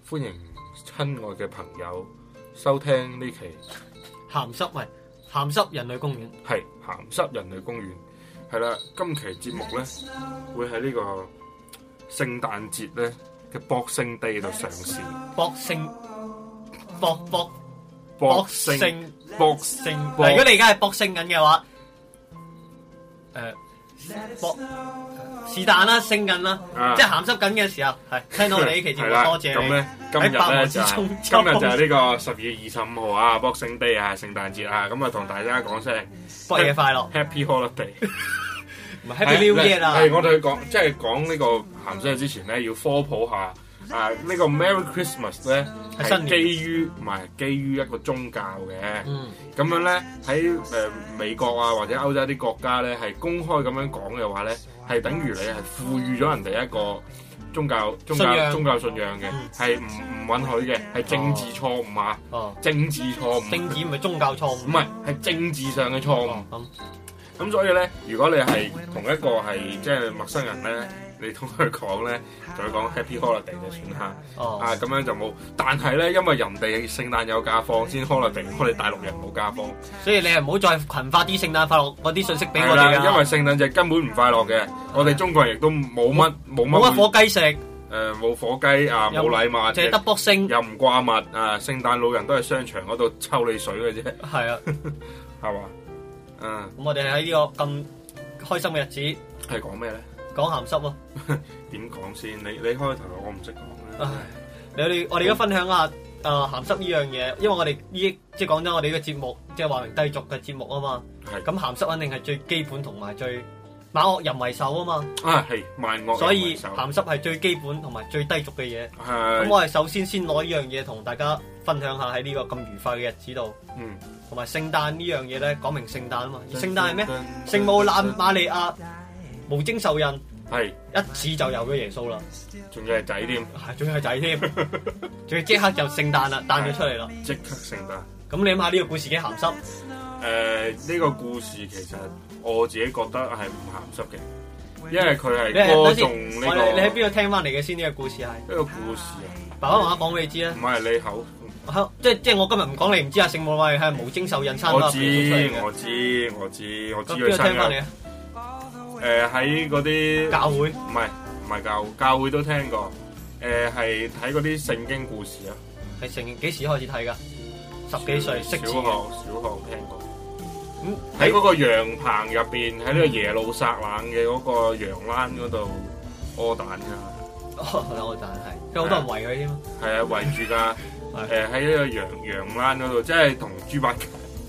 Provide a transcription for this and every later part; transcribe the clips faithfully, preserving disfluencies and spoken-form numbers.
歡迎親愛嘅朋友收聽呢期鹹濕咪鹹濕人類公園， 係鹹濕人類公園係啦。今期節目咧會喺呢個聖誕節咧嘅 Boxing Day 度上市。 博聖博博博聖博聖，嗱，如果你而家係博聖緊嘅話，誒博是但啦，聖緊啦，即係鹹濕緊嘅時候，係聽到我哋呢期節目，多謝你。 咁咧今日咧就係今日就係呢個十二月二十五號啊 ，Boxing Day 啊，聖誕節啊，咁啊同大家講聲博嘢快樂 ，Happy Holiday， 唔係 Happy New Year 啦。 係我哋講即係講呢個鹹濕之前咧，要科普下。啊！呢、這個 Merry Christmas 咧係基於唔係基於一個宗教嘅，咁、嗯、樣咧喺誒美國啊或者歐洲啲國家咧係公開咁樣講嘅話咧，係等於你係賦予咗人哋一個宗教宗教宗教信仰嘅，係唔唔允許嘅，係政治錯誤啊！哦、政治錯誤， 政治唔係宗教錯誤， 唔係係政治上嘅錯誤。咁、哦嗯、所以咧，如果你係同一個係即係陌生人咧。你同佢講咧，就講 Happy Holiday 就算啦。哦、啊，咁樣就冇。但係咧，因為人哋聖誕有假放先 Holiday，我哋大陸人冇假放。 所以你係唔好再群發啲聖誕快樂嗰啲信息俾我哋啊！ 因為聖誕節根本唔快樂嘅，我哋中國人亦都冇乜冇乜。 冇乜火雞食。誒、 呃，冇火雞啊，冇禮物。 淨係得卜星。又唔掛物啊！聖誕老人都喺商場嗰度抽你水嘅啫。係啊，係嘛？嗯。 咁我哋喺呢個咁開心嘅日子， 係講咩咧？ 講鹹濕喎， 點講先？你你開頭我唔識講啦。 你我哋我哋而家分享下誒鹹濕呢樣嘢，因為我哋呢即係講真，我哋呢個節目即係話明低俗嘅節目啊嘛。係。咁鹹濕肯定係最基本同埋最萬惡淫為首啊嘛。啊係萬惡淫為首。所以鹹濕係最基本同埋最低俗嘅嘢。係。咁我係首先先攞呢樣嘢同大家分享下喺呢個咁愉快嘅日子度。嗯。同埋聖誕呢樣嘢咧，講明聖誕啊嘛。而聖誕係咩？聖母納瑪利亞無精受孕。係一次就有咗耶穌啦， 仲要係仔添， 係仲要係仔添，仲要即刻就聖誕啦，誕咗出嚟啦， 即刻聖誕。咁你諗下呢個故事幾鹹濕？誒、 呃，呢、這個故事其實我自己覺得係唔鹹濕嘅，因為佢係歌頌呢個。 你喺邊度聽翻嚟嘅先？呢、這個故事係呢個故事啊， 爸爸媽媽講俾你知啊。 唔係你口， 即係即係我今日唔講你唔知啊。聖母係係無精受孕生。 我知我知我知我知佢生嘅。誒喺嗰啲教會， 唔係唔係教會，教會都聽過。誒係睇嗰啲聖經故事啊。 係聖經幾時開始睇㗎？十幾歲識字。 小學小學聽過。咁喺嗰個羊棚入邊，喺呢個耶路撒冷嘅嗰個羊欄嗰度屙蛋㗎。 屙蛋係，有好多人圍佢添。 係啊，圍住㗎。誒喺呢個羊羊欄嗰度，即係同豬八戒。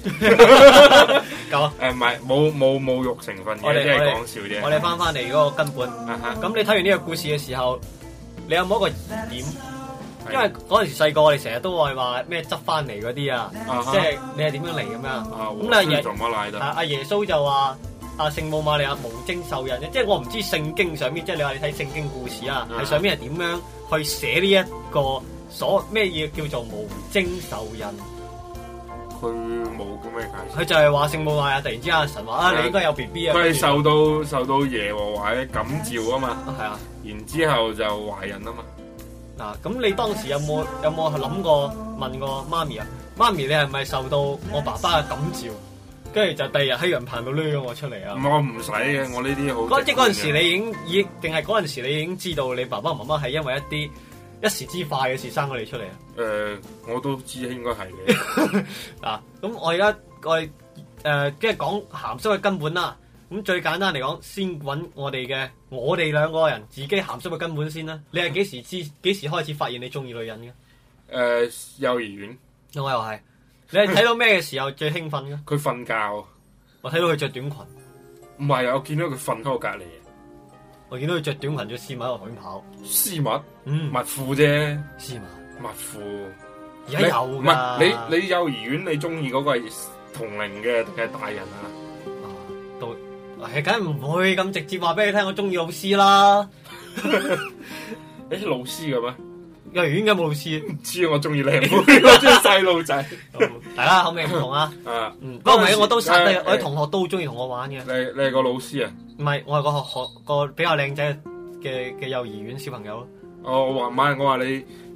夠啊！ 誒唔係冇冇侮辱成分嘅，即係講笑啫。 我哋翻翻嚟嗰個根本。咁、uh-huh. 你睇完呢個故事嘅時候，你有冇一個疑點？因為嗰陣時細個，我哋成日都會話咩執翻嚟嗰啲啊，uh-huh. 即係你係點樣嚟咁樣？咁你阿爺阿耶穌就話阿聖母瑪利亞無精受孕嘅，即係我唔知聖經上面，即係你話你睇聖經故事啊，係、uh-huh. 上面係點樣去寫呢一個所咩嘢叫做無精受孕？ 佢冇咁咩解釋， 佢就係話聖母瑪利亞突然之間神話啊，你應該有 B B 啊。 佢係受到受到耶和華嘅感召啊嘛，係啊， 然之後就懷孕啊嘛。 嗱、啊，咁你當時有冇有冇諗過問過媽咪啊？媽咪，你係咪受到我爸爸嘅感召？跟住就第二日喺羊棚度掠咗我出嚟啊！ 我唔使嘅，我呢啲好。 即係嗰陣時你已經已定係嗰陣時你已經知道你爸爸媽媽係因為一啲一時之快嘅事生咗你出嚟啊！ 誒、呃，我都知應該係嘅。 嗱，咁我而家我誒即係講鹹濕嘅根本啦。咁最簡單嚟講，先揾我哋嘅我哋兩個人自己鹹濕嘅根本先啦。你係幾時知幾時開始發現你中意女人嘅？誒、 呃，幼兒園。 我又係。你係睇到咩嘅時候最興奮嘅？ 佢瞓覺。 我睇到佢着短裙。 唔係啊，我見到佢瞓喺我隔離。 我見到佢着短裙着絲襪喺度海跑， 絲襪，嗯，襪褲啫， 絲襪， 襪褲， 而家有唔係你你幼兒園你中意嗰個係同齡嘅定係大人啊？ 啊，都係梗唔會咁直接話俾你聽，我中意老師啦。 誒，老師嘅咩？ 幼兒園有冇老師？ 唔知我中意靚妹，我中意細路仔。 大家口味唔同啊。啊，嗯，不過唔係，我都實際，我啲同學都好中意同我玩嘅。 你你係個老師啊？ 唔係，我係個學學個比較靚仔嘅嘅幼兒園小朋友咯。 哦，我話唔係，我話你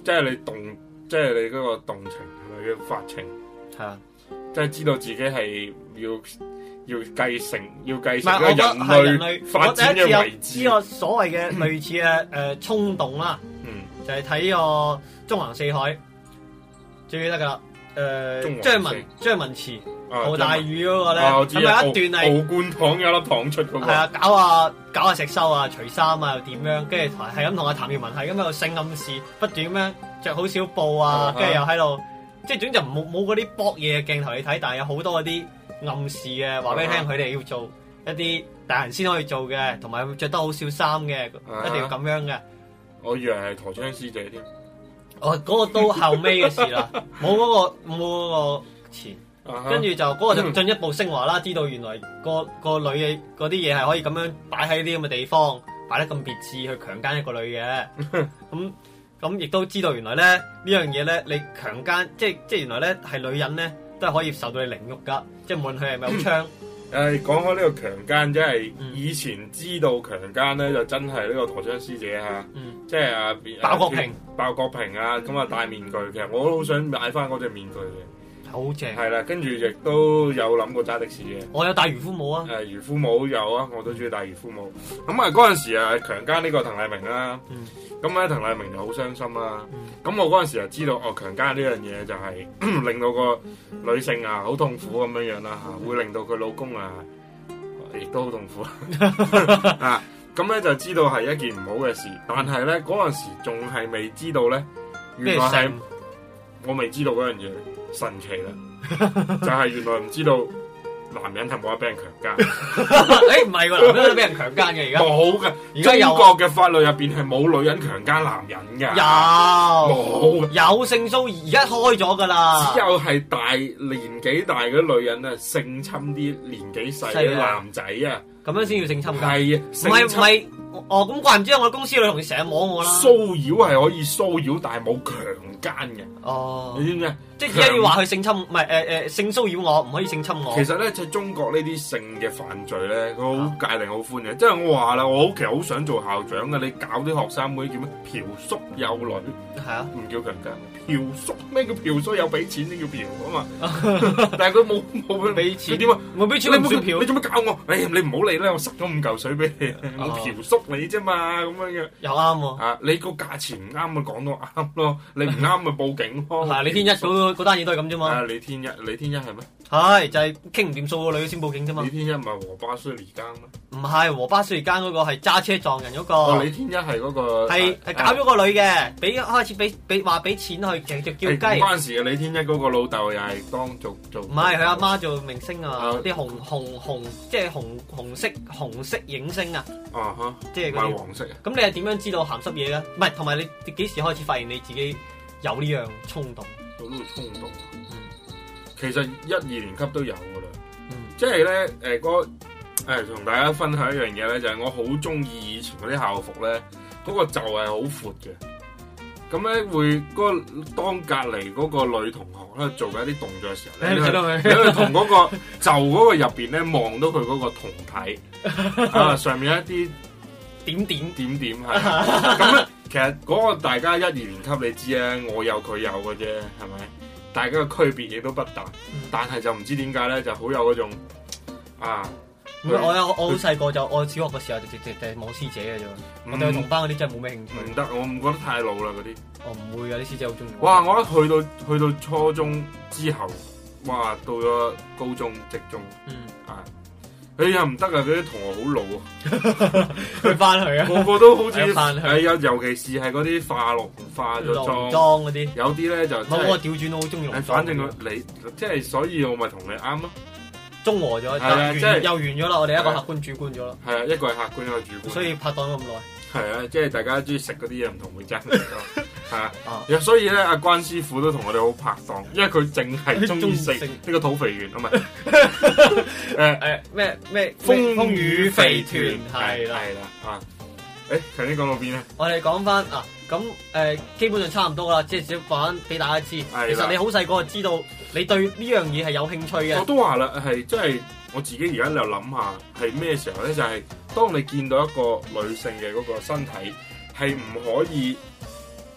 即係你動，即係你嗰個動情係咪叫發情？ 係啊， 即係知道自己係要要繼承，要繼承個人類發展嘅位置。 呢個所謂嘅類似嘅誒衝動啦，嗯，就係睇個縱橫四海最記得㗎啦。誒張文張文慈敖大宇嗰個咧，咁有一段係敖灌糖有粒糖出嗰個，係啊，搞下搞下石修啊，除衫啊又點樣，跟住係咁同阿譚耀文係咁喺度性暗示，不斷咁樣着好少布啊，跟住又喺度，即係總之就冇冇嗰啲搏嘢嘅鏡頭你睇，但係有好多嗰啲暗示嘅，話俾你聽佢哋要做一啲大人先可以做嘅，同埋着得好少衫嘅，一定要咁樣嘅。 我以為係陀槍師姐添。 哦，嗰、那個都後尾嘅事啦，冇嗰、那個冇嗰個前，跟住、uh huh. 就嗰、那個就進一步升華啦，知道原來、那個個女嘅嗰啲嘢係可以咁樣擺喺啲咁嘅地方，擺得咁別緻去強姦一個女嘅，咁咁亦都知道原來咧呢樣嘢咧，你強姦即係即係原來咧係女人咧都係可以受到你凌辱噶，即係無論佢係咪有槍。 誒講開呢個強姦，即係以前知道強姦咧，就真係呢個陀槍師姐嚇，嗯、即係啊鮑國平、 鮑國平啊，咁啊戴面具，其實我都好想買翻嗰隻面具嘅， 好正。係啦，跟住亦都有諗過揸的士嘅。我有戴漁夫帽啊！ 誒漁夫帽有啊，我都中意戴漁夫帽。咁啊嗰陣時啊強姦呢個滕麗明啦，咁咧滕麗明就好傷心啦。咁、嗯、我嗰陣時就知道哦強姦呢樣嘢就係令到個女性啊好痛苦咁樣樣啦嚇，會令到佢老公啊亦都好痛苦啊。咁咧就知道係一件唔好嘅事，但係咧嗰陣時仲係未知道咧，原來係我未知道嗰樣嘢神奇啦，就係原來唔知道。男人係冇得俾人強姦， 誒唔係喎，男人都俾人強姦嘅而家冇嘅，而家中國嘅法律入邊係冇女人強姦男人㗎， 有冇有性騷擾而家開咗㗎啦， 只有係大年紀大嘅女人啊性侵啲年紀細嘅男仔啊， 咁樣先要性侵㗎， 係啊， 唔係唔係，哦咁怪唔知我公司女同事成日摸我啦， 騷擾係可以騷擾，但係冇強姦嘅，哦，你知唔知？ 即係而家要話佢性侵，唔係誒誒性騷擾我，唔可以性侵我。 其實咧，喺中國呢啲性嘅犯罪咧，佢好界定好寬嘅。即係我話啦，我其實好想做校長嘅，你搞啲學生妹叫咩嫖宿幼女？係啊，唔叫強姦。嫖宿咩叫嫖宿？有俾錢先叫嫖啊嘛。但係佢冇冇俾錢。點啊？冇俾錢你唔算嫖。你做乜搞我？哎呀，你唔好理啦，我塞咗五嚿水俾你，我嫖宿你啫嘛，咁樣嘅。 又啱喎。 啊，你個價錢唔啱咪講到啱咯，你唔啱咪報警咯。 係李天一嗰嗰單嘢都係咁啫嘛。 啊，李天一，李天一係咩？ 係就係傾唔掂數個女先報警啫嘛。 李天一唔係和巴蘇尼間咩？ 唔係和巴蘇尼間嗰個係揸車撞人嗰個。 哦，李天一係嗰個係係搞咗個女嘅，俾開始俾俾話俾錢去，其實叫雞。 嗰陣時嘅李天一嗰個老豆又係當做做。唔係佢阿媽做明星啊，啲紅紅紅即係紅紅色紅色影星啊。 啊哈！ 即係嗰啲黃色啊。 咁你係點樣知道鹹濕嘢咧？唔係，同埋你幾時開始發現你自己有呢樣衝動？ 有呢個衝動。其實一二年級都有噶啦，嗯、即係咧誒嗰誒同大家分享一樣嘢咧，就係、是、我好中意以前嗰啲校服咧，嗰、那個袖係好闊嘅，咁咧會嗰、那個當隔離嗰個女同學咧做緊一啲動作嘅時候咧，你去同嗰個袖嗰個入邊咧望到佢嗰個胴體啊，上面有一啲點點點點係，咁咧其實嗰個大家一二年級你知啊，我有佢有嘅啫，係咪？大家嘅區別亦都不大，嗯、但係就唔知點解咧，就好有嗰種啊！ 唔係我有我好細個就我小學嘅時候就直直就係望師姐嘅啫，嗯、我對同班嗰啲真係冇咩興趣。唔得，我唔覺得太老啦嗰啲。 我唔會啊，啲師姐好中意。 哇！我一去到去到初中之後，哇！到咗高中、職中，嗯啊。哎呀唔得啊！嗰啲同學好老啊， 佢翻去啊， 個個都好似係有，尤其是係嗰啲化濃化咗妝妝嗰啲， 有啲咧就冇我調轉，我好中意濃妝。 反正你即係，所以我咪同你啱咯， 中和咗， 係啊，即係又完咗啦。我哋一個客觀主觀咗啦， 係啊，一個係客觀，一個主觀， 所以拍檔咗咁耐。 係啊，即係大家中意食嗰啲嘢唔同會爭係啊，所以咧阿關師傅都同我哋好拍檔，因為佢淨係中意食呢個土肥圓啊嘛，誒誒咩咩風雨肥團係啦係啦啊，誒頭先講到邊咧？ 我哋講翻啊，咁誒基本上差唔多啦，即係少講俾大家知。其實你好細個就知道你對呢樣嘢係有興趣嘅。 我都話啦，係即係我自己而家又諗下係咩時候咧？就係、是、當你見到一個女性嘅嗰個身體係唔可以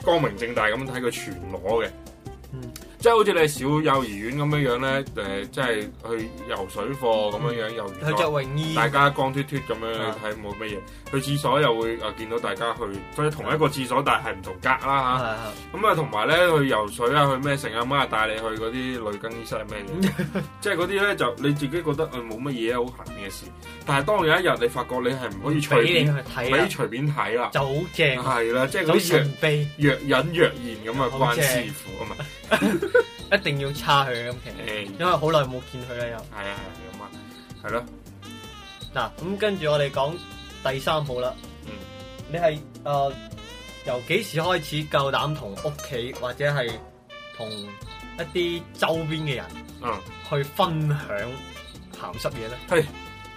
光明正大咁睇佢全裸嘅。嗯，即係好似你小幼兒園咁樣樣咧，誒、呃，即係去游水課咁樣樣，又佢着泳衣， 大家光脫脫咁樣睇冇乜嘢。去廁所又會誒見到大家去，所以同一個廁所，但係唔同格啦嚇。咁啊，同埋咧去游水啊，去咩成阿媽帶你去嗰啲女更衣室係咩嘢？即係嗰啲咧就你自己覺得誒冇乜嘢好閒嘅事，但係當有一日你發覺你係唔可以隨便睇，俾隨便睇啦， 就好正。 係啦，即係嗰啲若若隱若現咁啊，關師傅啊嘛， 一定要叉佢咁其實，因為好耐冇見佢啦又。 係啊係咁啊，係咯。 嗱咁跟住我哋講第三步啦。嗯，你係誒、呃、由幾時開始夠膽同屋企或者係同一啲周邊嘅人，嗯，去分享鹹濕嘢咧？ 係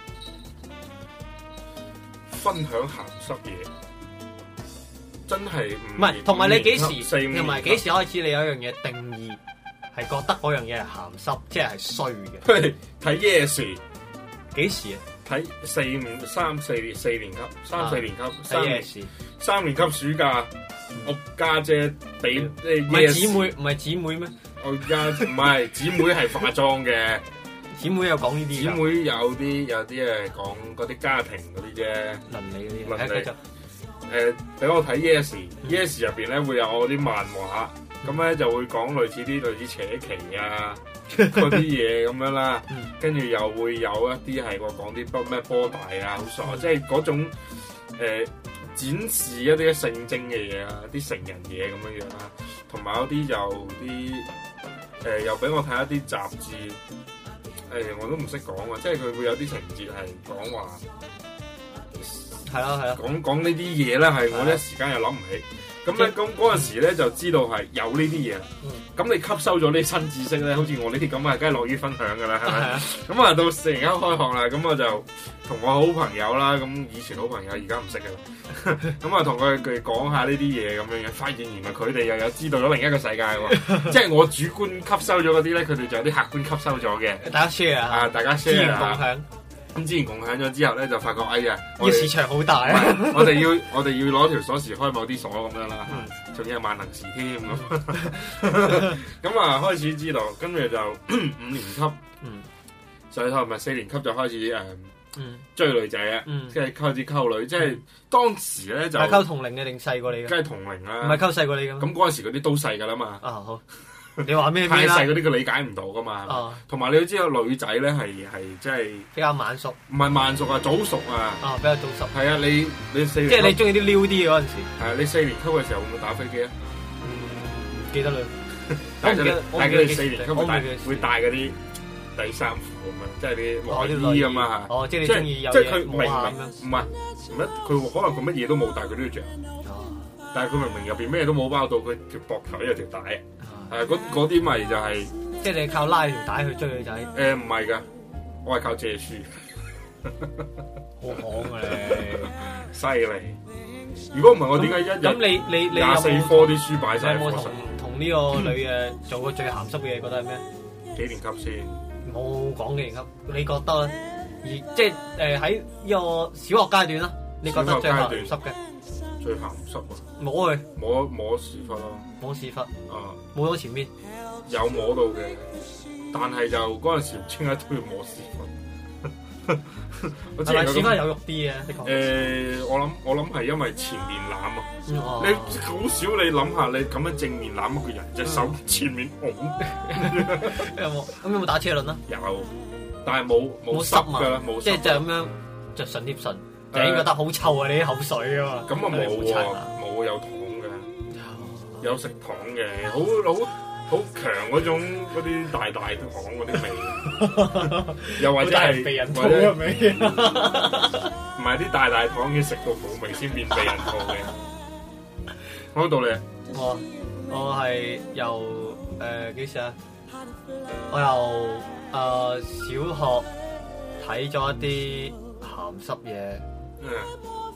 分享鹹濕嘢，真係唔係。同埋你幾時？同埋幾時開始？你有一樣嘢定義係覺得嗰樣嘢係鹹濕，即係係衰嘅。 睇 Yes 幾時啊？ 睇四五三四年四年級三四年級三年三年級暑假，我家姐俾唔係姊妹唔係姊妹咩？ 我家唔係姊妹係化妝嘅， 姊妹有講呢啲。 姊妹有啲有啲誒講嗰啲家庭嗰啲啫， 倫理嗰啲。倫理誒俾我睇 Yes Yes 入邊咧會有我啲漫畫，咁咧就會講類似啲類似扯旗啊。嗰啲嘢咁樣啦，跟住又會有一啲係我講啲波咩波大啊，好傻，即係嗰種誒、呃、展示一啲性徵嘅嘢啊，啲成人嘢咁樣樣啦，同埋有啲就啲誒、呃、又俾我睇一啲雜誌，誒、呃、我都唔識講啊，即係佢會有啲情節係講話， 係咯係咯， 講講呢啲嘢咧係我一時間又諗唔起。咁咧，咁嗰陣時咧就知道係有呢啲嘢。咁、嗯、你吸收咗呢新知識咧，好似我呢啲咁啊，梗係樂於分享噶啦，係咪？咁啊，到四年級開學啦，咁我就同我好朋友啦，咁以前好朋友，而家唔識噶啦。咁啊，同佢哋講下呢啲嘢咁樣樣，發現原來佢哋又有知道咗另一個世界喎。即係我主觀吸收咗嗰啲咧，佢哋就有啲客觀吸收咗嘅。 大家 share 啊， 大家 share 資源共享。 咁之前共享咗之後咧，就發覺哎呀， 呢個市場好大啊！ 我哋要我哋要攞條鎖匙開某啲鎖咁樣啦，仲、嗯、要係萬能匙添咁。咁啊，開始知道，跟住就五年級，嗯，上頭咪四年級就開始誒，嗯，追女仔啊，即係開始溝女，即係當時咧就係溝同齡嘅定細過你嘅？梗係同齡啦， 唔係溝細過你嘅。 咁嗰陣時嗰啲都細噶啦嘛。 啊好。你話咩？ 太細嗰啲佢理解唔到噶嘛，同埋、哦、你要知道女仔咧係係即係比較晚熟， 唔係晚熟啊，早熟啊， 啊比較早熟。 係啊，你你四年即係你中意啲撩啲嘅嗰陣時。 係啊，你四年級嘅時候會唔會打飛機啊？ 嗯，唔記得啦。 但係佢哋四年級會帶會帶嗰啲底衫褲咁樣，即係啲內衣咁啊嚇。 哦，即係你中意有即係佢明明唔係唔係佢可能佢乜嘢都冇，但係佢都要着。但係佢明明入邊咩都冇包到，佢條膊頭有條帶。誒嗰啲咪就係、是， 即係你靠拉條帶去追女仔。 誒唔係㗎，我係靠借書。 好行啊你， 犀利！如果唔係我點解一日咁你你你廿四科啲書擺晒喺課室？ 有冇同同呢個女嘅做過最鹹濕嘅嘢？覺得係咩？ 幾年級先？ 冇講幾年級，你覺得咧？而即係誒喺呢個小學階段啦，你覺得最鹹濕嘅？ 最鹹濕啊！ 摸佢， 摸摸屎忽咯， 摸屎忽， 啊， 摸到前面， 有摸到嘅，但係就嗰陣時唔知點解都要摸屎忽。我知係屎忽有肉啲嘅，你講。 誒，我諗我諗係因為前面攬啊，嗯哦、你好少你諗下，你咁樣正面攬一個人，隻、嗯、手前面拱。 有冇？咁有冇打車輪啊？ 有，但係冇冇濕㗎啦，冇即係就咁樣着唇貼唇。就已經覺得好臭啊！你啲口水啊嘛， 咁啊冇喎，冇有糖嘅，有食糖嘅，好好好強嗰種嗰啲大大糖嗰啲味，又或者係避孕套嘅味， 唔係啲大大糖要食到冇味先變避孕套嘅。講到你， 我我係由誒幾時啊？我由誒、呃、小學睇咗一啲鹹濕嘢。嗯，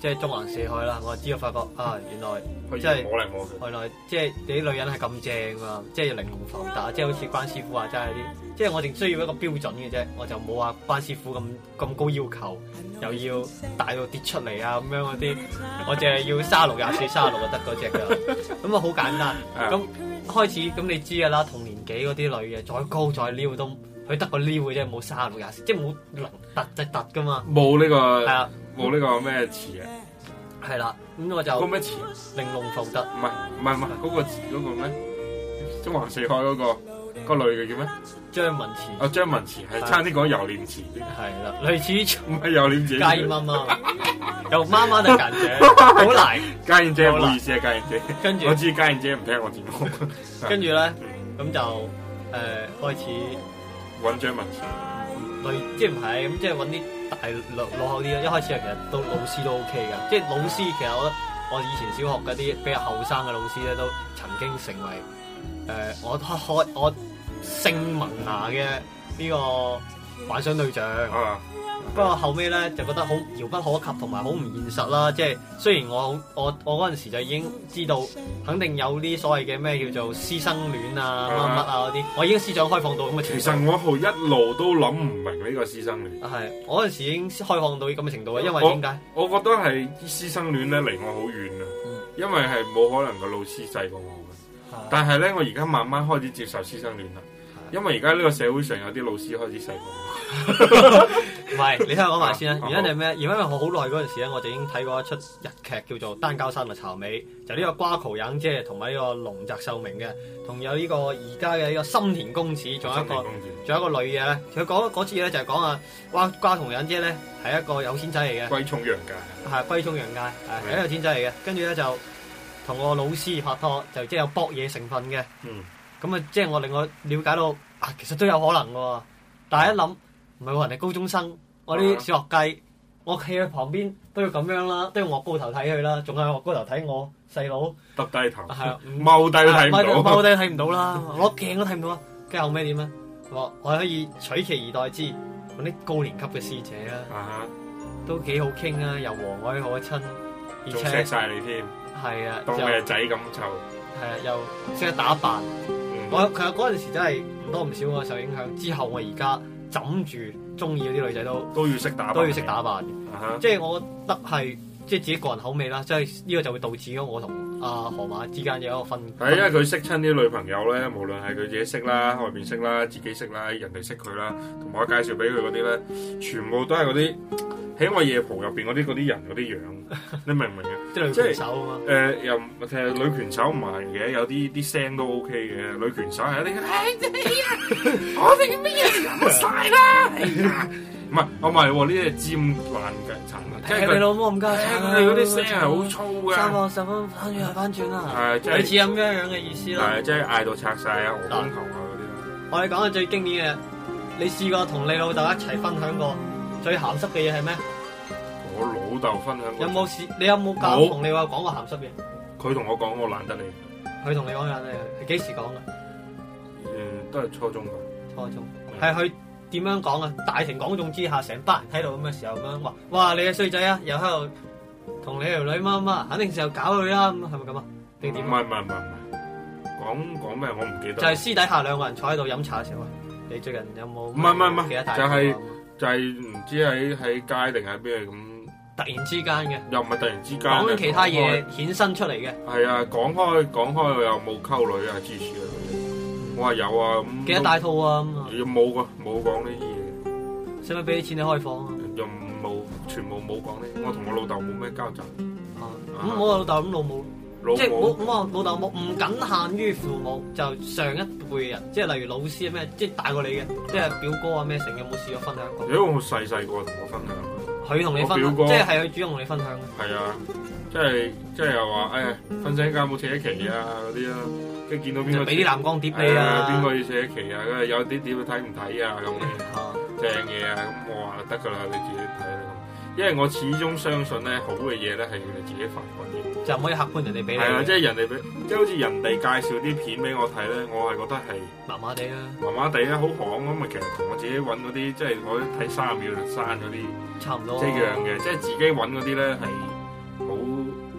即係中環四海啦，我知道發覺啊，原來即係摸嚟摸去， 原來即係你啲女人係咁正啊，即係玲瓏浮凸，即係好似關師傅話齋啲，即係我淨需要一個標準嘅啫，我就冇話關師傅咁咁高要求，又要大到跌出嚟啊咁樣嗰啲，我淨係要卅六廿四卅六就得嗰隻㗎，咁啊好簡單。咁開始咁你知㗎啦，同年紀嗰啲女嘅再高再撩都。佢得個撩嘅啫，冇卅六廿四，即係冇能突即突噶嘛。 冇呢、呢個係啊， 冇呢個咩詞啊？ 係啦，咁我就嗰咩詞？ 玲瓏浮凸。 唔係唔係唔係嗰個嗰、嗰個咩？中環四海嗰、嗰個、嗰個女嘅叫咩？ 張文慈。 啊，張文慈係差啲講油臉詞。 係啦，類似唔係油臉詞。 家燕媽媽，又媽媽定家燕姐，好難。 家燕姐唔好意思啊，家燕姐。 跟住我知家燕姐唔聽我節目。 跟住咧，咁就誒、呃、開始。 揾張文慈， 類即係唔係咁，即係揾啲大老老口啲咯。一開始啊，其實都老師都 OK 㗎。即係老師，其實我覺得我以前小學嗰啲比較後生嘅老師咧，都曾經成為誒、呃、我開我姓文雅嘅呢個幻想對象。啊、不過後尾咧就覺得好遙不可及，同埋好唔現實啦。即係雖然我我我嗰陣時就已經知道，肯定有啲所謂嘅咩叫做師生戀啊乜乜啊嗰啲，我已經思想開放到咁嘅程度。 其實我好一路都諗唔明呢個師生戀。係， 我嗰陣時已經開放到咁嘅程度啊，因為點解？ 我覺得係師生戀咧離我好遠啊，嗯、因為係冇可能個老師細過我嘅。啊、但係咧，我而家慢慢開始接受師生戀啦。因為而家呢個社會上有啲老師開始細個， 唔係你聽我講埋先啦。原因係咩？因為我好耐嗰陣時咧，我就已經睇過一出日劇叫做《單交山嘅巢尾》，就呢、是、個瓜cầu忍姐同埋呢個龍澤秀明嘅，同有呢個而家嘅呢個深田恭子，仲有一個仲有一個女嘅咧。佢講嗰次咧就係講啊，瓜瓜cầu忍姐咧係一個有錢仔嚟嘅， 龜松洋介係龜松洋介係一個有錢仔嚟嘅。跟住咧就同個老師拍拖，就即係有搏嘢成分嘅。嗯。咁啊，即係我令我了解到啊，其實都有可能喎。但係一諗，唔係喎，人哋高中生，我啲小學雞，我企喺旁邊都要咁樣啦，都要我高頭睇佢啦，仲係我高頭睇我細佬， 耷低頭， 係啊， 踎低都睇唔到， 踎低睇唔到啦，攞鏡都睇唔到啦。跟住後尾點啊？我我可以取其而代之，揾啲高年級嘅師姐啦，都幾好傾啊，又和藹可親，而且錫晒你添， 係啊， 當你係仔咁湊， 係啊，又識得打扮。我其實嗰陣時真係唔多唔少我受影響，之後我而家枕住中意嗰啲女仔都都要識打扮， 都要識打扮嘅 ，uh huh. 即係我覺得係即係自己個人口味啦，即係呢個就會導致咗我同阿河馬之間有一個分。 係因為佢識親啲女朋友咧，無論係佢自己識啦、外邊識啦、自己識啦、人哋識佢啦，同埋我介紹俾佢嗰啲咧，全部都係嗰啲喺我夜蒲入邊嗰啲嗰啲人嗰啲樣，你明唔明啊？ 即係女拳手啊嘛。誒、 呃、又其實女拳手唔係嘅，有啲啲聲都 OK 嘅。女拳手係一啲，哎呀，我哋咩嘢冇晒啦！唔係，我唔係喎，呢啲係尖爛腳層啊！ 即係你老母咁加層啊！ 佢哋嗰啲聲係好粗嘅。 三個十分翻轉翻轉啦！ 係即係類似咁樣樣嘅意思啦。 係即係嗌到拆晒啊！我光頭啊嗰啲。 我哋講嘅最經典嘅，你試過同你老豆一齊分享過最鹹濕嘅嘢係咩？ 我老豆分享過。 有冇試？你有冇教同你話講過鹹濕嘢？ 佢同我講我懶得你。 佢同你講懶得你係幾時講嘅？ 誒，都係初中㗎。 初中係佢點樣講啊？大庭廣眾之下，成班人喺度咁嘅時候咁樣話：哇！你嘅衰仔啊，又喺度同你條女乜乜，肯定時候搞佢啦，咁係咪咁啊？定點？ 唔係唔係唔係唔係，講講咩？我唔記得。 就係私底下兩個人坐喺度飲茶嘅時候，你最近有冇？ 唔係唔係唔係，就係就係唔知喺喺街定喺邊咁。 突然之間嘅， 又唔係突然之間， 講緊其他嘢衍生出嚟嘅。 係啊，講開講開，我又冇溝女啊，支持啊嗰啲。我話有啊，咁記得帶套啊咁啊。 又冇噶，冇講呢啲嘢。 使唔使俾啲錢你開房啊？ 又冇，全部冇講呢。我同我老豆冇咩交集。 啊，咁我老豆咁老母，即係冇咁我老豆冇，唔僅限於父母，就上一輩嘅人，即係例如老師啊咩，即係大過你嘅，即係表哥啊咩成，有冇試過分享過？ 如果我細細個同我分享。 佢同你分享，即係係佢主動同你分享嘅。 係啊，即係即係又話誒，瞓醒覺冇扯旗啊嗰啲啦，跟住見到邊個俾啲藍光碟你啊， 邊個要扯旗啊？跟住有啲碟你睇唔睇啊？咁嘅正嘢啊，咁我話得㗎啦，你自己睇啦。因為我始終相信咧，好嘅嘢咧係要你自己發掘嘅， 就唔可以客觀人哋俾你。 係啊，即係人哋俾，即係好似人哋介紹啲片俾我睇咧，我係覺得係麻麻地啦， 麻麻地啦，好行咁啊！其實同我自己揾嗰啲，即係我睇三十秒就刪嗰啲， 差唔多， 一樣嘅，即係自己揾嗰啲咧係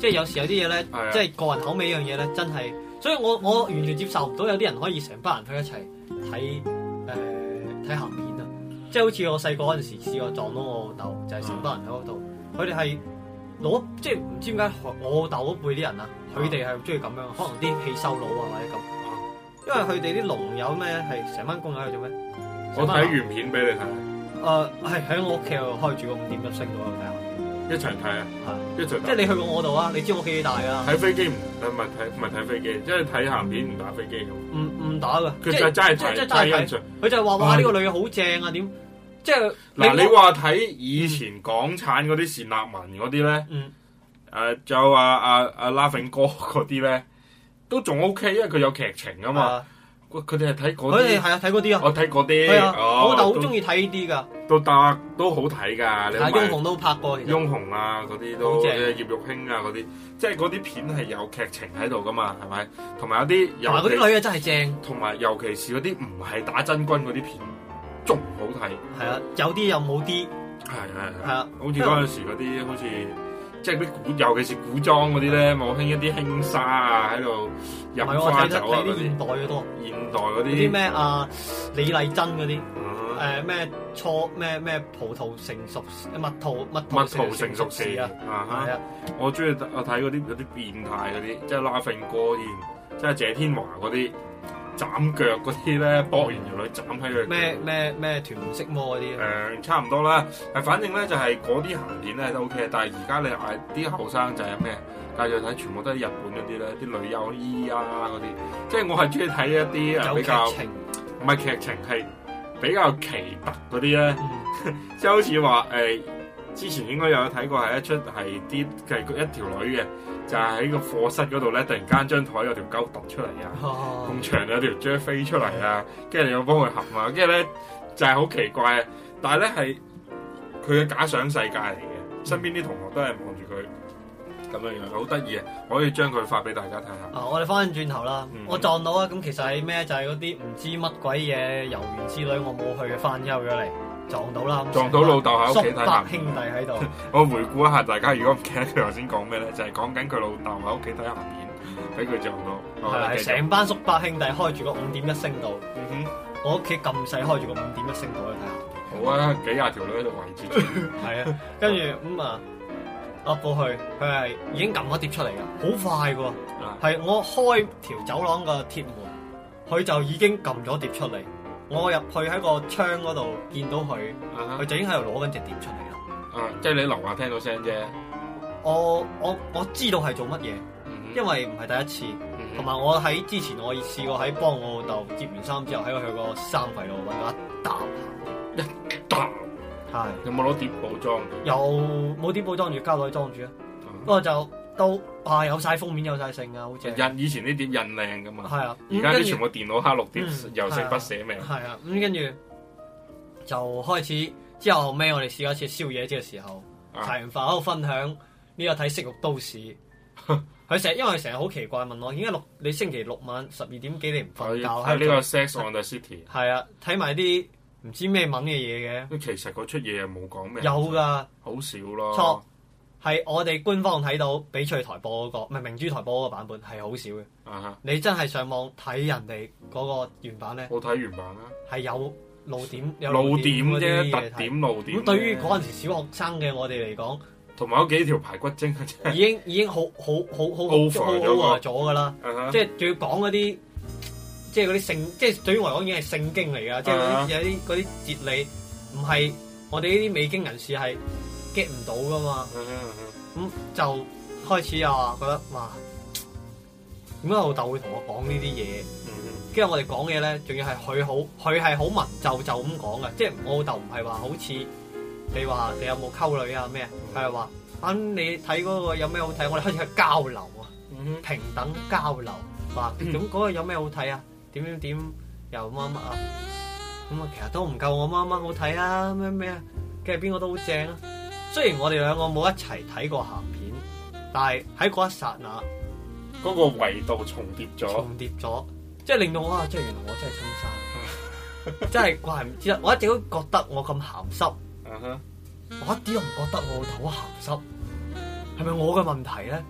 即係有時有啲嘢咧，即係個人口味呢樣嘢咧，真係，所以我我完全接受唔到有啲人可以成班人去一齊睇誒睇鹹片啊！即係好似我細個嗰陣時試過撞到我老豆，就係成班人喺嗰度，佢哋係攞即係唔知點解我老豆嗰輩啲人啊，佢哋係中意咁樣，可能啲氣收佬啊或者咁，因為佢哋啲龍友咩係成班工友喺度做咩？ 我睇完片俾你睇。 誒係喺我屋企度開住個五點一星度睇下。 一齊睇啊！係一齊。 即係你去過我度啊？你知我屋企幾大㗎？ 睇飛機唔誒唔係睇唔係睇飛機，即係睇鹹片唔打飛機㗎。 唔唔打㗎。 佢就真係睇真係欣賞。 佢就係話哇呢個女嘅好正啊點？即係嗱你話睇以前港產嗰啲單立文嗰啲咧，誒仲有阿阿阿 Laughing 哥嗰啲咧，都仲 OK，因為佢有劇情啊嘛。佢哋係睇嗰啲， 佢哋係啊睇嗰啲啊， 我睇嗰啲， 係啊，我老豆好中意睇呢啲噶， 都得都好睇㗎。你翁虹都拍過，其實翁虹啊嗰啲都，葉玉卿啊嗰啲，即係嗰啲片係有劇情喺度㗎嘛，係咪？同埋有啲， 同埋嗰啲女啊真係正， 同埋尤其是嗰啲唔係打真軍嗰啲片，仲好睇。係啊，有啲又冇啲， 係係係啊， 好似嗰陣時嗰啲好似。即係啲古，尤其是古裝嗰啲咧，冇興一啲輕紗啊，喺度飲花酒啊嗰啲。 現代嘅多。 現代嗰啲。 啲咩啊？李麗珍嗰啲，誒咩初咩咩葡萄成熟，蜜桃蜜桃成熟時啊！係啊， 我中意我睇嗰啲有啲變態嗰啲，即係 Laughing 哥添，即係謝天華嗰啲。斬腳嗰啲咧，搏完條女斬喺佢。 咩咩咩屯門色魔嗰啲？ 誒、呃，差唔多啦。誒，反正咧就係嗰啲鹹片咧都 OK，但係而家你嗌啲後生就係咩？介紹睇全部都係日本嗰啲咧，啲女優衣啊嗰啲。即係我係中意睇一啲誒比較，唔係劇情係比較奇特嗰啲咧。嗯、即係好似話誒，之前應該有睇過係一出係啲係一條女嘅。就係喺個課室嗰度咧，突然間張台有條鳩突出嚟啊，咁長有條蕉飛出嚟啊，跟住你又幫佢合啊，跟住咧就係、是、好奇怪啊！但係咧係佢嘅假想世界嚟嘅，身邊啲同學都係望住佢咁樣樣，好得意啊！可以將佢發俾大家睇下。 啊，我哋翻轉頭啦，嗯、我撞到啊！咁其實係咩？就係嗰啲唔知乜鬼嘢遊園之旅，我冇去嘅翻休咗嚟。撞到啦！ 撞到老豆喺屋企睇鹹片， 兄弟喺度。 我回顧一下，大家如果唔記得佢頭先講咩咧，就係講緊佢老豆喺屋企睇鹹片，俾佢撞到。 係係成班叔伯兄弟開住個五點一聲道。嗯哼，我屋企咁細開住個五點一聲道去睇鹹片。 好啊，幾廿條女喺度圍住。 係啊，跟住咁啊，噏過去，佢係已經撳咗碟出嚟㗎，好快㗎。係我開條走廊個鐵門，佢就已經撳咗碟出嚟。我入去喺個窗嗰度見到佢，佢、uh huh. 就已經喺度攞緊隻碟出嚟啦。 啊，uh, 即係你樓下聽到聲啫。 我我我知道係做乜嘢，uh huh. 因為唔係第一次，同埋、uh huh. 我喺之前我試過喺幫我老豆接完衫之後喺佢個衫櫃度揾到一沓鹹碟， 一沓係。有冇攞碟布裝？ 有冇碟布裝住膠袋裝住啊？不過、uh huh. 就。都啊有晒封面有晒性啊，好似印以前啲碟印靚噶嘛， 係啊， 而家啲全部電腦黑綠碟，又識筆寫名， 係啊，咁跟住就開始之後後尾我哋試過一次宵夜嘅時候，茶完飯喺度分享呢個睇《色慾都市》，佢成日因為成日好奇怪問我，點解六你星期六晚十二點幾你唔瞓覺？ 喺呢個 Sex on the City， 係啊，睇埋啲唔知咩文嘅嘢嘅， 其實嗰出嘢又冇講咩， 有㗎， 好少咯， 錯。係我哋官方睇到翡翠台播嗰、那個，唔係明珠台播嗰個版本係好少嘅。Uh huh. 你真係上網睇人哋嗰個原版咧， 我睇原版啦， 係有露點，有露點啫，特點露點。 咁對於嗰陣時小學生嘅我哋嚟講， 同埋嗰幾條排骨精已經已經好好好好 over 咗㗎啦。即係仲要講嗰啲，即係嗰啲聖，即係對於我嚟講已經係聖經嚟㗎。即係、uh huh. 有啲嗰啲哲理，唔係我哋呢啲未經人士係 get 唔到㗎嘛。咁、uh huh. 嗯、就開始又話覺得哇，點解老豆會同我講呢啲嘢？跟住、uh huh. 我哋講嘢咧，仲要係佢好，佢係好文縐縐咁講嘅，即係我老豆唔係話好似你話你有冇溝女啊咩？佢係話啊你睇嗰個有咩好睇？我哋開始去交流啊，uh huh. 平等交流，話咁嗰個有咩好睇啊？點點點又乜乜啊？咁啊其實都唔夠我媽媽好睇啊咩咩啊？跟住邊個都好正啊！雖然我哋兩個冇一齊睇過鹹片，但係喺嗰一剎那， 嗰個維度重疊咗， 重疊咗，即係令到我啊，即係原來我真係親生，真係怪唔知啦！我一直都覺得我咁鹹濕，uh huh. 我一啲都唔覺得我老豆好鹹濕，係咪我嘅問題咧？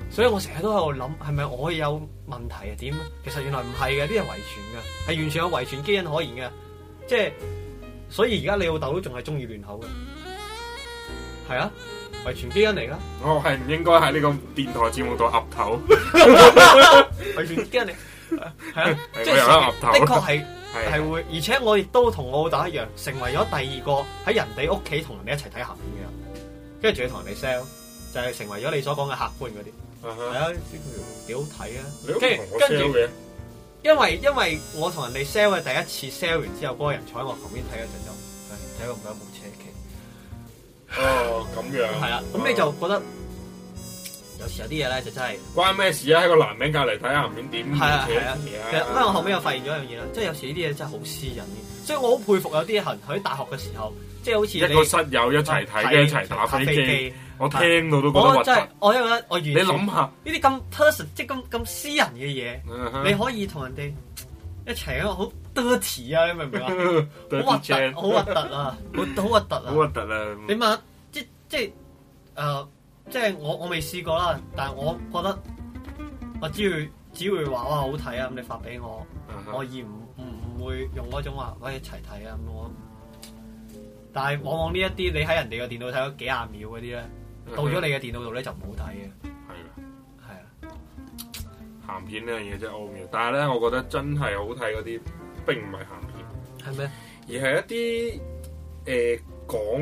所以我成日都喺度諗，係咪我有問題啊？點？其實原來唔係嘅，啲係遺傳嘅，係完全有遺傳基因可言嘅。即係，所以而家你老豆都仲係中意亂口嘅，係啊，遺傳基因嚟㗎。 我係唔應該喺呢個電台節目度岌頭， 遺傳基因嚟，係啊，即係的確係係會，而且我亦都同我老豆一樣，成為咗第二個喺人哋屋企同人哋一齊睇鹹片嘅人，跟住仲要同人哋 sell， 就係成為咗你所講嘅客觀嗰啲。係、uh huh. 啊，呢條幾好睇啊！跟住跟住，因為因為我同人哋 sell 嘅第一次 sell 完之後，嗰、那個人坐喺我旁邊睇嗰陣就，睇過唔睇部車企。 哦，咁樣。係啊，咁你就覺得有時有啲嘢咧就真係關咩事啊？喺個男人隔離睇鹹片點係啊係啊。其實因為我後尾又發現咗一樣嘢啦，即係有時呢啲嘢真係好私隱嘅，所以我好佩服有啲人喺大學嘅時候，即係好似一個室友一齊睇嘅，一齊打飛機。我聽到都覺得核突。我真係， 我覺得我完全。你諗下呢啲咁 person， 即係咁咁私人嘅嘢，uh huh. 你可以同人哋一齊啊，好 dirty 啊，你明唔明啊？好核突，好核突啊！好好核突啊！ 好核突啊！ 你問即即係誒、呃，即係我我未試過啦，但係我覺得我只會只會話哇好睇啊！咁你發俾我，uh huh. 我而唔唔唔會用嗰種話喂一齊睇啊咁我。但係往往呢一啲你喺人哋嘅電腦睇咗幾廿秒嗰啲咧。到咗你嘅電腦度咧就唔好睇嘅， 係啦， 係啊， 鹹片呢樣嘢真係奧妙，但係咧，我覺得真係好睇嗰啲並唔係鹹片， 係咩？ 而係一啲誒講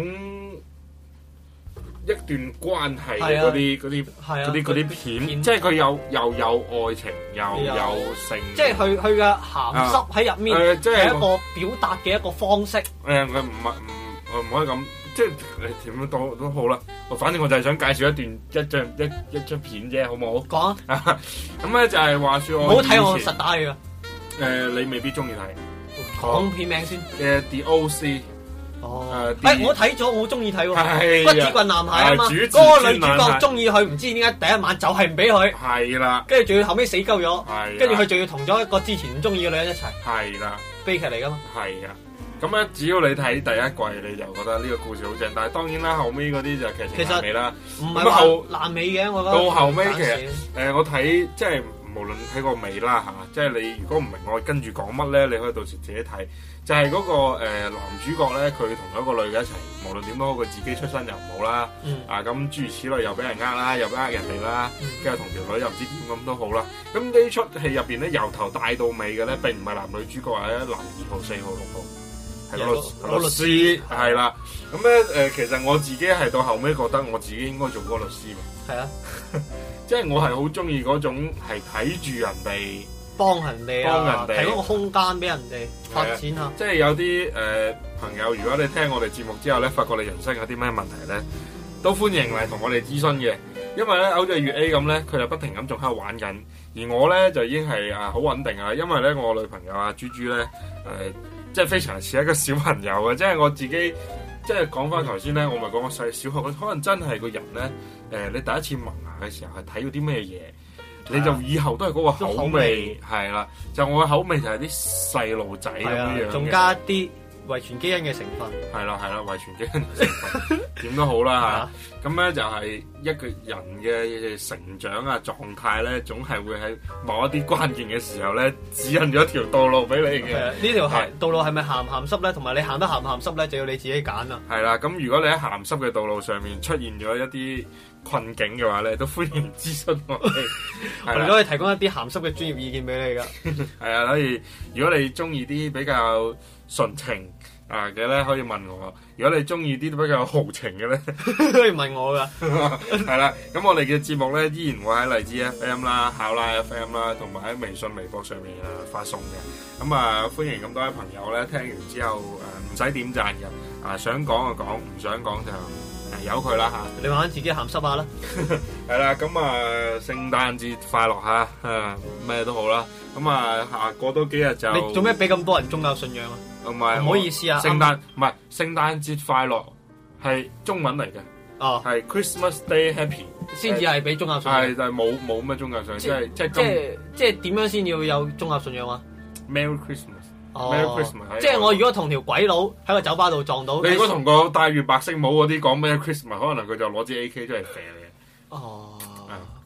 一段關係嘅嗰啲嗰啲嗰啲嗰啲片，即係佢有又有愛情又有性， 即係佢佢嘅鹹濕喺入面，係一個表達嘅一個方式。誒， 佢唔係唔我唔可以咁。即係你點樣都都好啦，我反正我就係想介紹一段一張一一張片啫，好唔好？ 講啊！ 咁咧就係話説我唔好睇我實打嘅。 誒，你未必中意睇。 講片名先。 誒 The O C。 哦。誒，我睇咗，我好中意睇喎。 係。 骨子棍男孩啊嘛。嗰個女主角中意佢，唔知點解第一晚就係唔俾佢。 係啦。跟住仲要後尾死鳩咗。 係。 跟住佢仲要同咗一個之前唔中意嘅女人一齊。 係啦。 悲劇嚟㗎嘛。 係啊。咁咧，只要你睇第一季，你就覺得呢個故事好正。但係當然啦，後尾嗰啲就劇情爛尾啦。 唔係話爛尾嘅，我覺得。 到後尾其實誒、呃，我睇即係無論睇個尾啦嚇，即係你如果唔明我跟住講乜咧，你可以到時自己睇。就係、是、嗰、那個、呃、男主角咧，佢同一個女嘅一齊，無論點都好，佢自己出身又唔好啦。嗯、啊咁諸如此類，又俾人呃啦，又呃人哋啦，跟住同條女又唔知點咁都好啦。咁呢出戲入邊咧，由頭帶到尾嘅咧，並唔係男女主角，係男二號、四號、六號。係個律個律師係啦，咁咧誒，其實我自己係到後尾覺得我自己應該做嗰個律師喎。係啊，即係我係好中意嗰種係睇住人哋幫人哋啊，提供個空間俾人哋發展下。 即係有啲誒、呃、朋友，如果你聽我哋節目之後咧，發覺你人生有啲咩問題咧，都歡迎嚟同我哋諮詢嘅。因為咧，好似粵 A 咁咧，佢就不停咁仲喺度玩緊，而我咧就已經係啊好穩定啊。因為咧，我女朋友啊豬豬咧誒。呃即係非常似一個小朋友嘅，即係我自己，即係講翻頭先咧，我咪講我細小學，可能真係個人咧，誒、呃，你第一次萌芽嘅時候係睇到啲咩嘢，你就以後都係嗰個口味，係啦，就我嘅口味就係啲細路仔咁樣， 仲加啲遺傳基因嘅成分， 係啦係啦，遺傳基因嘅成分，點都好啦嚇。咁咧就係一個人嘅成長啊狀態咧，總係會喺某一啲關鍵嘅時候咧，指引咗一條道路俾你嘅。 呢條係道路係咪鹹唔鹹濕咧？同埋你行得鹹唔鹹濕咧，就要你自己揀啦。 係啦，咁如果你喺鹹濕嘅道路上面出現咗一啲困境嘅話咧，都歡迎諮詢我哋。 我哋都可以提供一啲鹹濕嘅專業意見俾你㗎。 係啊，所以如果你中意啲比較純情啊嘅咧，可以問我；如果你中意啲比較豪情嘅咧， 可以問我噶。 係啦，咁我哋嘅節目咧依然會喺荔枝 F M 啦、考拉 F M 啦，同埋喺微信、微博上面啊發送嘅。咁啊，歡迎咁多位朋友咧聽完之後誒唔使點讚嘅，啊想講就講，唔想講就誒由佢啦嚇。 你慢慢自己鹹濕下啦。 係啦，咁啊聖誕節快樂嚇，誒咩都好啦。咁啊下過多幾日就你做咩俾咁多人宗教信仰啊？ 唔係， 唔好意思啊！ 聖誕唔係聖誕節快樂係中文嚟嘅，哦，係 Christmas Day Happy 先至係俾宗教信仰， 係就係冇冇咩宗教信仰，即係即係即係即係點樣先要有宗教信仰啊 ？Merry Christmas，Merry Christmas， 即係我如果同條鬼佬喺個酒吧度撞到， 你如果同個戴住白色帽嗰啲講 Merry Christmas，可能佢就攞支 A K 出嚟射你。 哦，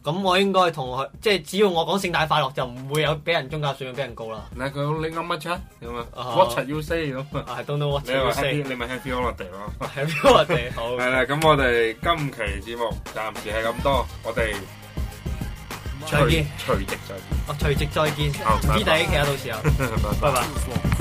咁我應該同佢，即係只要我講聖誕快樂，就唔會有俾人宗教信仰俾人告啦。 嗱，佢你噏乜柒咁啊 ？What should you say 咁啊 ？I don't know what you say。 你咪 Happy Holiday 咯。 Happy Holiday 好。 係啦，咁我哋今期節目暫時係咁多，我哋再見， 隨即再見。 哦，隨即再見。唔知第一期啊，到時候。拜拜。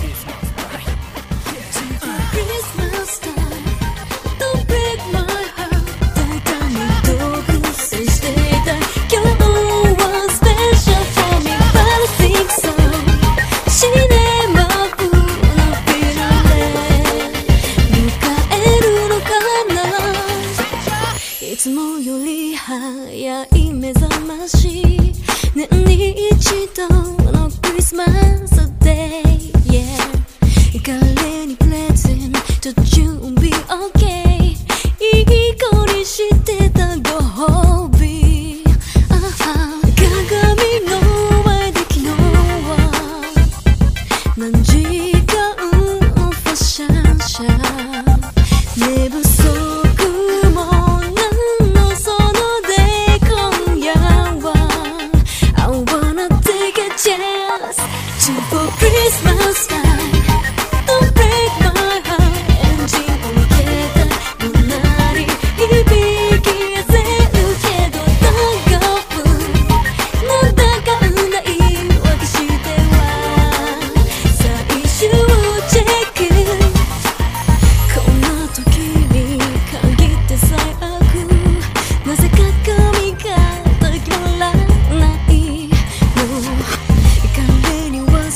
いつもより早い目覚まし年に一度のクリスマスデイ、yeah、彼にプレゼント準備 OK いい子にしてたご褒美、あは鏡の前で昨日は何時間ファッションシャー寝不足Christmas time, don't break my heart. エンジンを抜けたのなり響き痩せるけど大丈夫なんだかんだ言い訳しては最終チェックこんな時に限って最悪なぜか髪が決まらないの彼には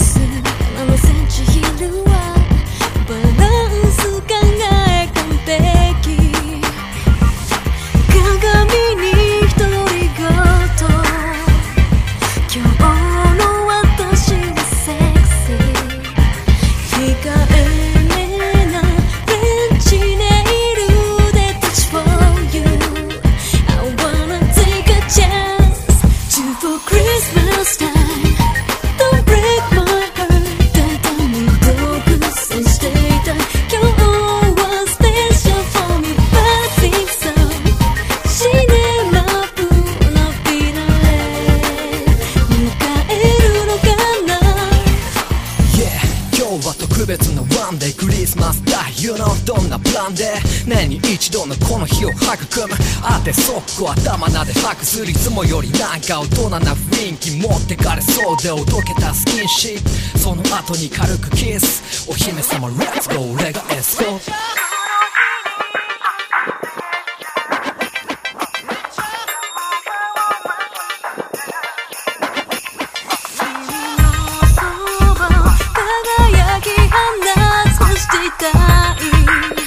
年に一度のこの日を育むあてそっこ頭なで吐くするいつもよりなんか大人な雰囲気持ってかれそうでおどけたスキンシップその後に軽くキスお姫様 Let's go 俺がエスコート輝き放つしていたい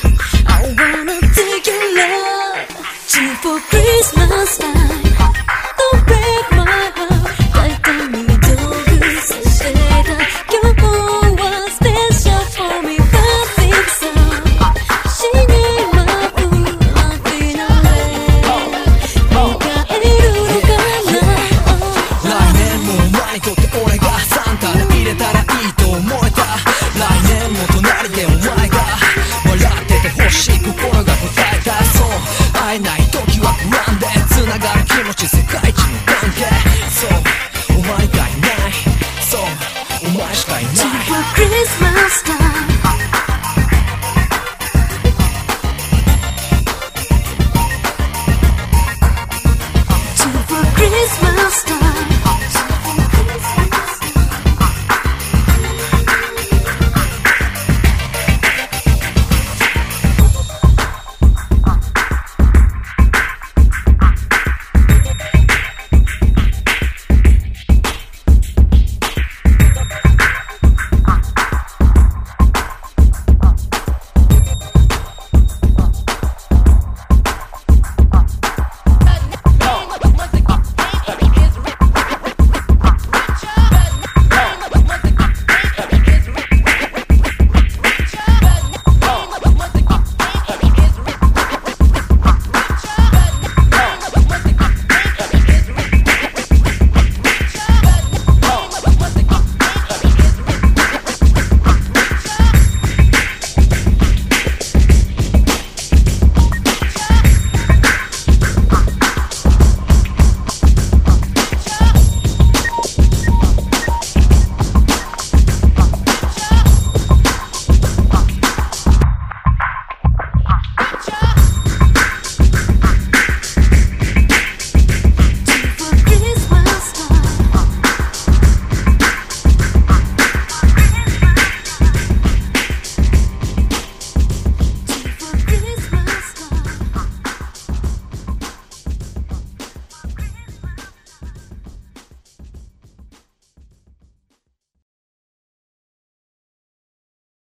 For Christmas time, don't break my heart. 大胆に道具させた今日は special for me. Perfect song. 死にまうなフィナレ迎えるのかな。来年もお前にとって俺がサンタで入れたらいいと思えた。来年も隣でお前が笑ってて欲しい心が答えた。そう会えない時は不安で繋がる気持ち世界一の関係そうお前がいないそうお前しかいない Super Christmas time